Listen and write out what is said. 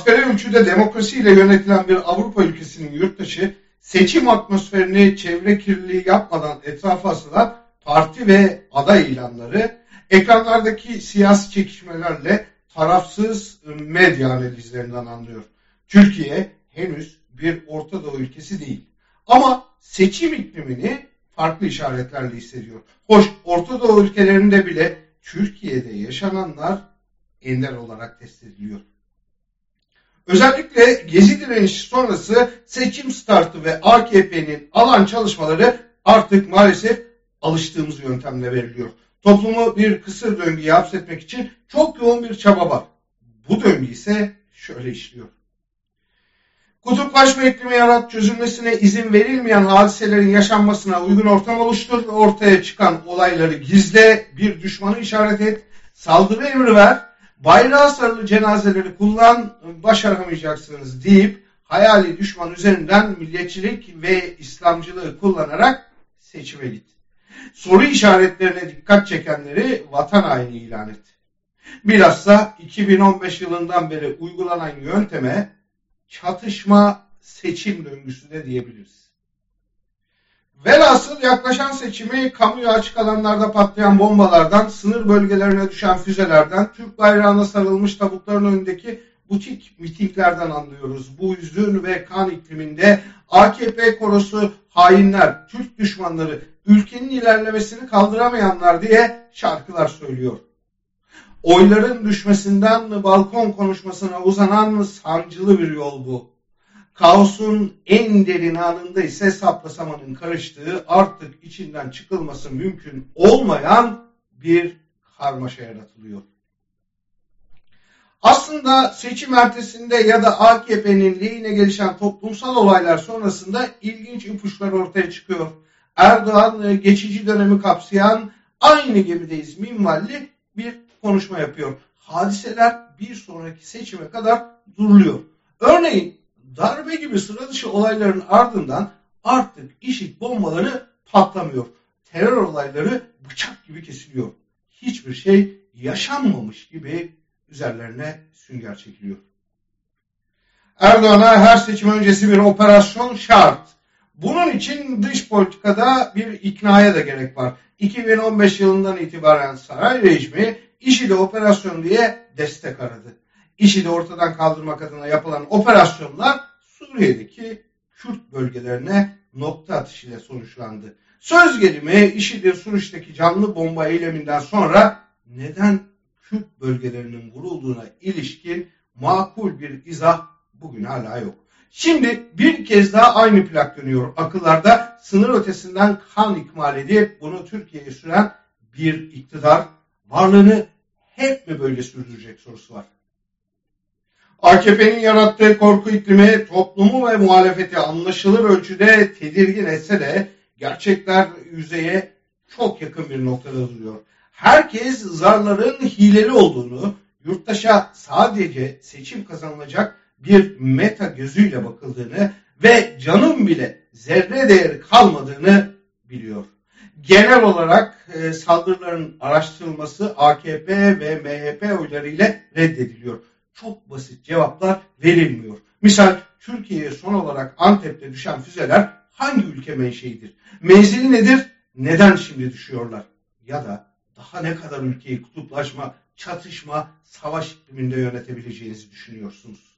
Asgari ölçüde demokrasiyle yönetilen bir Avrupa ülkesinin yurttaşı seçim atmosferini çevre kirliliği yapmadan etrafa asılan parti ve aday ilanları, ekranlardaki siyasi çekişmelerle tarafsız medya analizlerinden anlıyor. Türkiye henüz bir Orta Doğu ülkesi değil. Ama seçim iklimini farklı işaretlerle hissediyor. Hoş, Orta Doğu ülkelerinde bile Türkiye'de yaşananlar ender olarak test ediliyor. Özellikle Gezi direnişi sonrası seçim startı ve AKP'nin alan çalışmaları artık maalesef alıştığımız yöntemle veriliyor. Toplumu bir kısır döngüye hapsetmek için çok yoğun bir çaba var. Bu döngü ise şöyle işliyor. Kutuplaşma iklimi yarat, çözülmesine izin verilmeyen hadiselerin yaşanmasına uygun ortam oluştur ve ortaya çıkan olayları gizle, bir düşmanı işaret et, saldırı emri ver, bayrağı sarılı cenazeleri kullan, başaramayacaksınız deyip hayali düşman üzerinden milliyetçilik ve İslamcılığı kullanarak seçime git. Soru işaretlerine dikkat çekenleri vatan haini ilan et. Bilhassa 2015 yılından beri uygulanan yönteme çatışma seçim döngüsü de diyebiliriz. Velhasıl yaklaşan seçimi kamuya açık alanlarda patlayan bombalardan, sınır bölgelerine düşen füzelerden, Türk bayrağına sarılmış tabutların önündeki butik mitinglerden anlıyoruz. Bu hüzün ve kan ikliminde AKP korosu hainler, Türk düşmanları, ülkenin ilerlemesini kaldıramayanlar diye şarkılar söylüyor. Oyların düşmesinden balkon konuşmasına uzanan sancılı bir yol bu. Kaosun en derin anında ise sapla samanın karıştığı, artık içinden çıkılması mümkün olmayan bir karmaşa yaratılıyor. Aslında seçim ertesinde ya da AKP'nin lehine gelişen toplumsal olaylar sonrasında ilginç ipuçlar ortaya çıkıyor. Erdoğan geçici dönemi kapsayan aynı gemideyiz minvalli bir konuşma yapıyor. Hadiseler bir sonraki seçime kadar duruluyor. Örneğin darbe gibi sıra dışı olayların ardından artık IŞİD bombaları patlamıyor. Terör olayları bıçak gibi kesiliyor. Hiçbir şey yaşanmamış gibi üzerlerine sünger çekiliyor. Erdoğan'a her seçim öncesi bir operasyon şart. Bunun için dış politikada bir iknaya da gerek var. 2015 yılından itibaren saray rejimi IŞİD'e operasyon diye destek aradı. IŞİD'i ortadan kaldırmak adına yapılan operasyonlar Suriye'deki Kürt bölgelerine nokta atışıyla sonuçlandı. Söz gelimi IŞİD'in Suriye'deki canlı bomba eyleminden sonra neden Kürt bölgelerinin vurulduğuna ilişkin makul bir izah bugün hala yok. Şimdi bir kez daha aynı plak dönüyor akıllarda. Sınır ötesinden kan ikmal edip bunu Türkiye'ye süren bir iktidar varlığını hep mi böyle sürdürecek sorusu var. AKP'nin yarattığı korku iklimi toplumu ve muhalefeti anlaşılır ölçüde tedirgin etse de gerçekler yüzeye çok yakın bir noktada duruyor. Herkes zarların hileli olduğunu, yurttaşa sadece seçim kazanılacak bir meta gözüyle bakıldığını ve canın bile zerre değeri kalmadığını biliyor. Genel olarak saldırıların araştırılması AKP ve MHP oylarıyla reddediliyor. Çok basit cevaplar verilmiyor. Misal Türkiye'ye son olarak Antep'te düşen füzeler hangi ülke menşeidir? Menzili nedir? Neden şimdi düşüyorlar? Ya da daha ne kadar ülkeyi kutuplaşma, çatışma, savaş ikliminde yönetebileceğinizi düşünüyorsunuz?